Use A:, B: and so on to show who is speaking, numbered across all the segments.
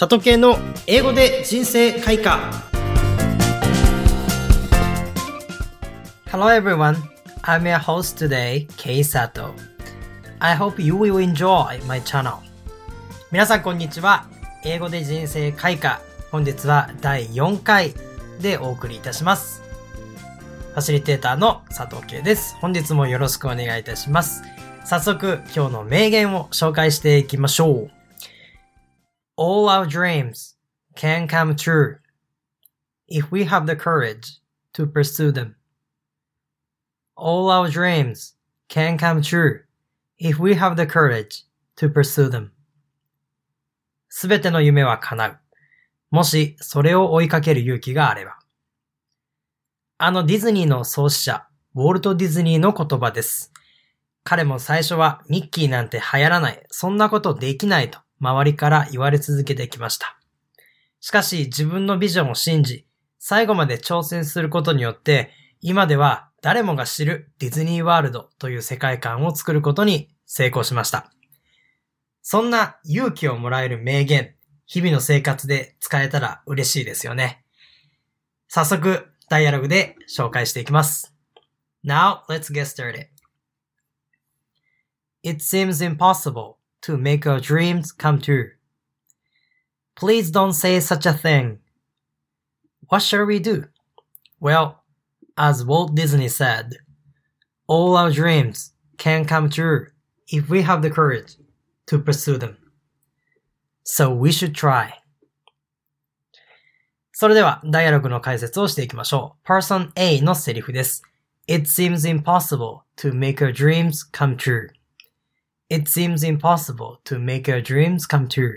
A: 佐藤系の英語で人生開花。 Hello everyone, I'm your host today, Kei Sato. I hope you will enjoy my channel. 皆さんこんにちは。英語で人生開花。本日は第4回でお送りいたします。ファシリテーターの佐藤圭です。本日もよろしくお願いいたします。早速今日の名言を紹介していきましょう。All our dreams can come true if we have the courage to pursue them. All our dreams can come true if we have the courage to pursue them. すべての夢は叶う。もしそれを追いかける勇気があれば。ディズニーの創始者、ウォルト・ディズニーの言葉です。彼も最初はミッキーなんて流行らない、そんなことできないと周りから言われ続けてきました。しかし自分のビジョンを信じ、最後まで挑戦することによって、今では誰もが知るディズニーワールドという世界観を作ることに成功しました。そんな勇気をもらえる名言、日々の生活で使えたら嬉しいですよね。早速、ダイアログで紹介していきます。Now, let's get started. It seems impossible to make our dreams come true. Please don't say such a thing. What shall we do? Well, as Walt Disney said, all our dreams can come true if we have the courage to pursue them. So we should try. それでは、ダイアログの解説をしていきましょう。Person A のセリフです。It seems impossible to make our dreams come true.It seems impossible to make our dreams come true.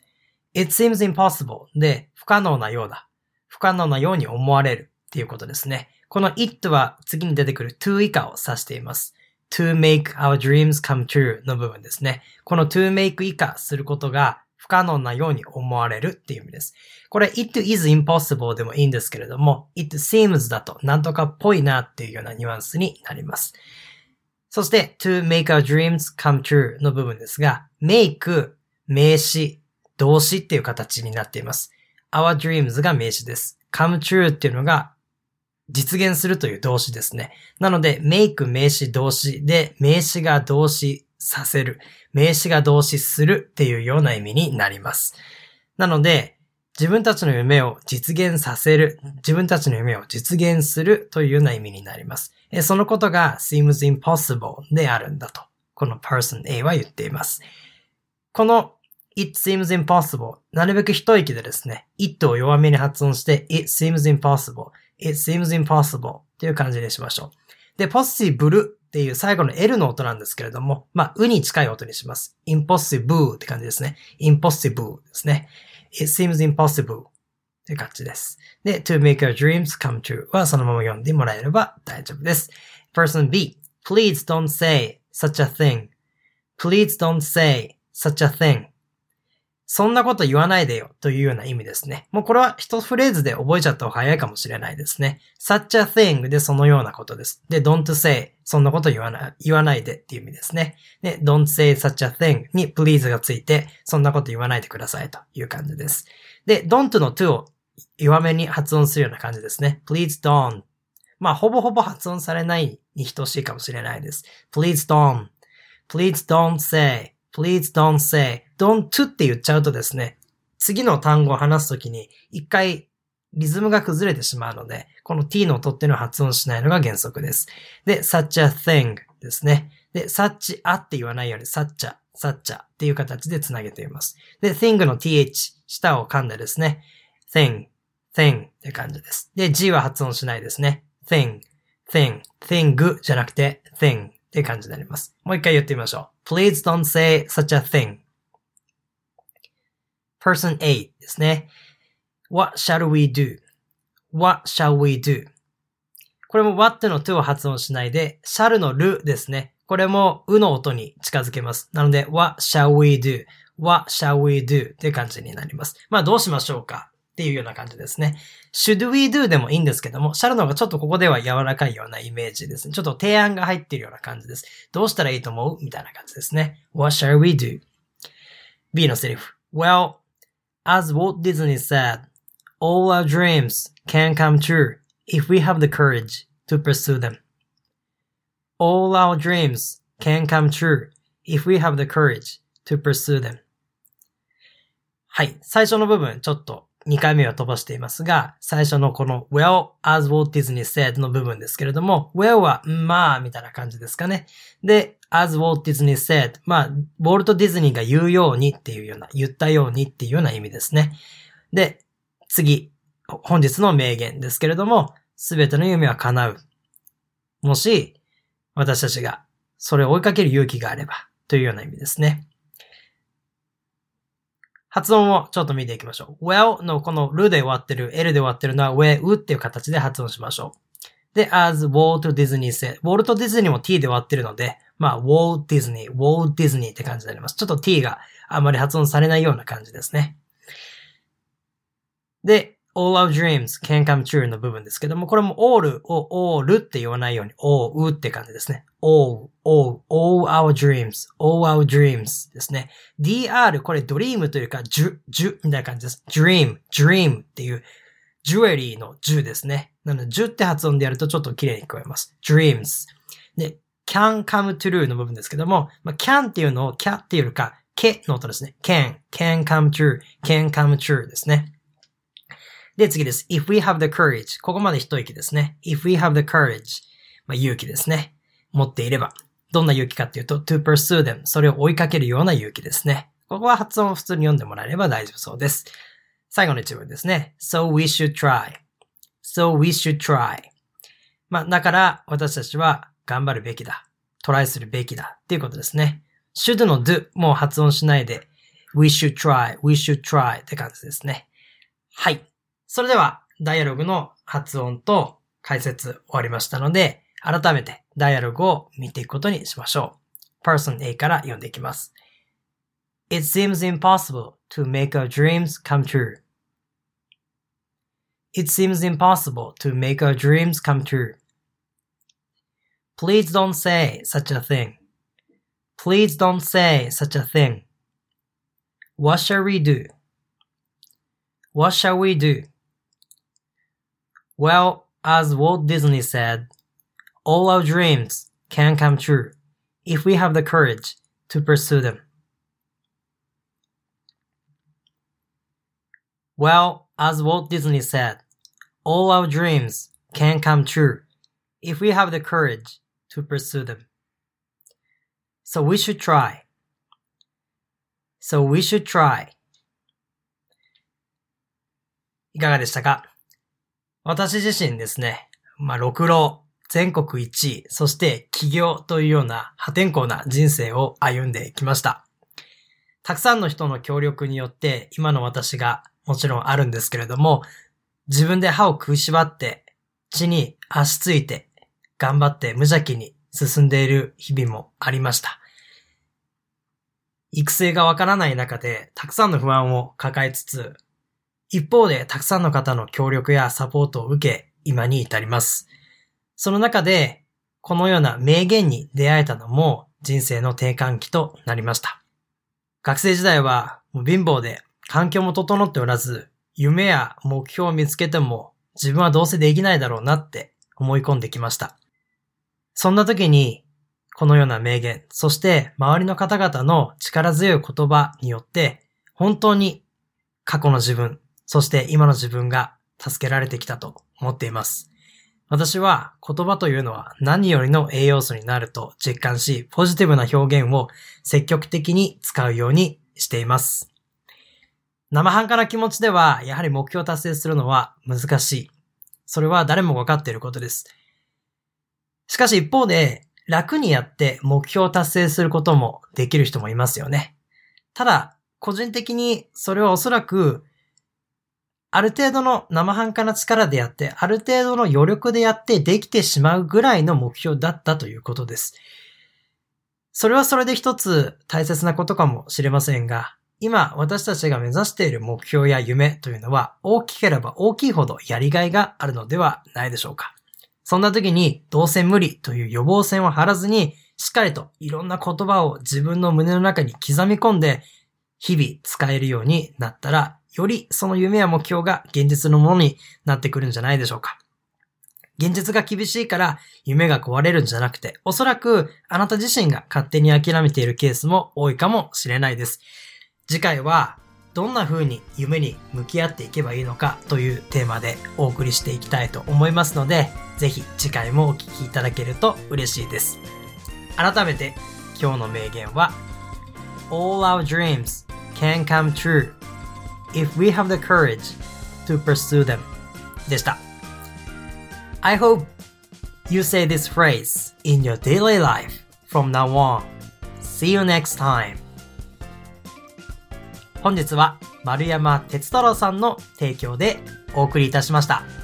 A: It seems impossible で不可能なようだ。不可能なように思われるっていうことですね。この it は次に出てくる to 以下を指しています。to make our dreams come true の部分ですね。この to make 以下することが不可能なように思われるっていう意味です。これ it is impossible でもいいんですけれども it seems だとなんとかっぽいなっていうようなニュアンスになります。そして、to make our dreams come true の部分ですが、make 名詞、動詞っていう形になっています。our dreams が名詞です。come true っていうのが実現するという動詞ですね。なので、make 名詞動詞で、名詞が動詞させる、名詞が動詞するっていうような意味になります。なので、自分たちの夢を実現させる、自分たちの夢を実現するというような意味になります。そのことが seems impossible であるんだと、この person A は言っています。この it seems impossible、なるべく一息でですね、it を弱めに発音して it seems impossible、it seems impossible という感じにしましょう。で、possible っていう最後の L の音なんですけれども、うに近い音にします。impossible って感じですね。impossible ですね。It seems impossible という感じです。で、to make our dreams come true はそのまま読んでもらえれば大丈夫です。Person B, please don't say such a thing. Please don't say such a thing. そんなこと言わないでよというような意味ですね。もうこれは一フレーズで覚えちゃった方が早いかもしれないですね。such a thing でそのようなことです。で、don't say そんなこと言わないでっていう意味ですね。で、don't say such a thing に please がついてそんなこと言わないでくださいという感じです。で、don't の to を弱めに発音するような感じですね。please don't。ほぼほぼ発音されないに等しいかもしれないです。please don't。please don't say。please don't say。don't to って言っちゃうとですね、次の単語を話すときに一回リズムが崩れてしまうので、この t の音っていうのを発音しないのが原則です。で、such a thing ですね。で、such a って言わないように such a っていう形でつなげています。で、thing の th、舌を噛んでですね、thing って感じです。で、g は発音しないですね。thing じゃなくて thing っていう感じになります。もう一回言ってみましょう。Please don't say such a thing. Person A ですね。What shall we do? What shall we do? これも what の to を発音しないで、shall の るですね。これもうの音に近づけます。なので、What shall we do? What shall we do? っていう感じになります。どうしましょうかっていうような感じですね。should we do でもいいんですけども、shall の方がちょっとここでは柔らかいようなイメージですね。ちょっと提案が入っているような感じです。どうしたらいいと思うみたいな感じですね。What shall we do? B のセリフ。Well, as Walt Disney said, all our dreams can come true if we have the courage to pursue them. All our dreams can come true if we have the courage to pursue them. はい。最初の部分、ちょっと2回目は飛ばしていますが、最初のこの Well, as Walt Disney said の部分ですけれども、Well は、まあ、みたいな感じですかね。で、as Walt Disney said、まあ、ウォルト・ディズニーが言うようにっていうような、言ったようにっていうような意味ですね。で、次、本日の名言ですけれども、すべての夢は叶う。もし、私たちがそれを追いかける勇気があれば、というような意味ですね。発音をちょっと見ていきましょう。well のこのルで終わってる、l で終わってるのは well っていう形で発音しましょう。で、as Walt Disney said。ウォルト・ディズニーも t で終わってるので、まあ、Walt Disney って感じになります。ちょっと t があまり発音されないような感じですね。で、all our dreams can come true の部分ですけども、これも all を all って言わないように all って感じですね。all our dreams ですね。dr これドリームというか、ジュみたいな感じです。dream っていう、ジュエリーのジュですね。なので、ジュって発音でやるとちょっと綺麗に聞こえます。dreams。で、can come true の部分ですけども、can っていうのを can っていうよりか、けの音ですね。can come true ですね。で、次です。if we have the courage。ここまで一息ですね。if we have the courage。勇気ですね。持っていれば。どんな勇気かっていうと、to pursue them。それを追いかけるような勇気ですね。ここは発音を普通に読んでもらえれば大丈夫そうです。最後の一文ですね。so we should try。だから私たちは頑張るべきだ。トライするべきだ。っていうことですね。should の do もう発音しないで、we should try って感じですね。はい。それでは、ダイアログの発音と解説終わりましたので、改めてダイアログを見ていくことにしましょう。Person A から読んでいきます。It seems impossible to make our dreams come true. It seems impossible to make our dreams come true. Please don't say such a thing. Please don't say such a thing. What shall we do? What shall we do?Well, as Walt Disney said, all our dreams can come true if we have the courage to pursue them. Well, as Walt Disney said, all our dreams can come true if we have the courage to pursue them. So we should try. いかがでしたか？私自身ですね、六浪、全国1位、そして起業というような破天荒な人生を歩んできました。たくさんの人の協力によって今の私がもちろんあるんですけれども、自分で歯を食いしばって地に足ついて頑張って無邪気に進んでいる日々もありました。育成がわからない中でたくさんの不安を抱えつつ、一方でたくさんの方の協力やサポートを受け、今に至ります。その中で、このような名言に出会えたのも人生の転換期となりました。学生時代はもう貧乏で環境も整っておらず、夢や目標を見つけても自分はどうせできないだろうなって思い込んできました。そんな時に、このような名言、そして周りの方々の力強い言葉によって、本当に過去の自分、そして今の自分が助けられてきたと思っています。私は言葉というのは何よりの栄養素になると実感し、ポジティブな表現を積極的に使うようにしています。生半可な気持ちではやはり目標を達成するのは難しい。それは誰も分かっていることです。しかし一方で楽にやって目標を達成することもできる人もいますよね。ただ個人的にそれはおそらくある程度の生半可な力でやって、ある程度の余力でやってできてしまうぐらいの目標だったということです。それはそれで一つ大切なことかもしれませんが、今私たちが目指している目標や夢というのは大きければ大きいほどやりがいがあるのではないでしょうか。そんな時にどうせ無理という予防線を張らずに、しっかりといろんな言葉を自分の胸の中に刻み込んで、日々使えるようになったらよりその夢や目標が現実のものになってくるんじゃないでしょうか。現実が厳しいから夢が壊れるんじゃなくて、おそらくあなた自身が勝手に諦めているケースも多いかもしれないです。次回はどんな風に夢に向き合っていけばいいのかというテーマでお送りしていきたいと思いますので、ぜひ次回もお聞きいただけると嬉しいです。改めて今日の名言は All our dreams can come true if we have the courage to pursue them でした。I hope you say this phrase in your daily life from now on. See you next time. 本日は丸山哲太郎さんの提供でお送りいたしました。